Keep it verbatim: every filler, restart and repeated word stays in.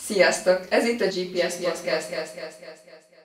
Sziasztok! Ez itt a gé pé es Podcast.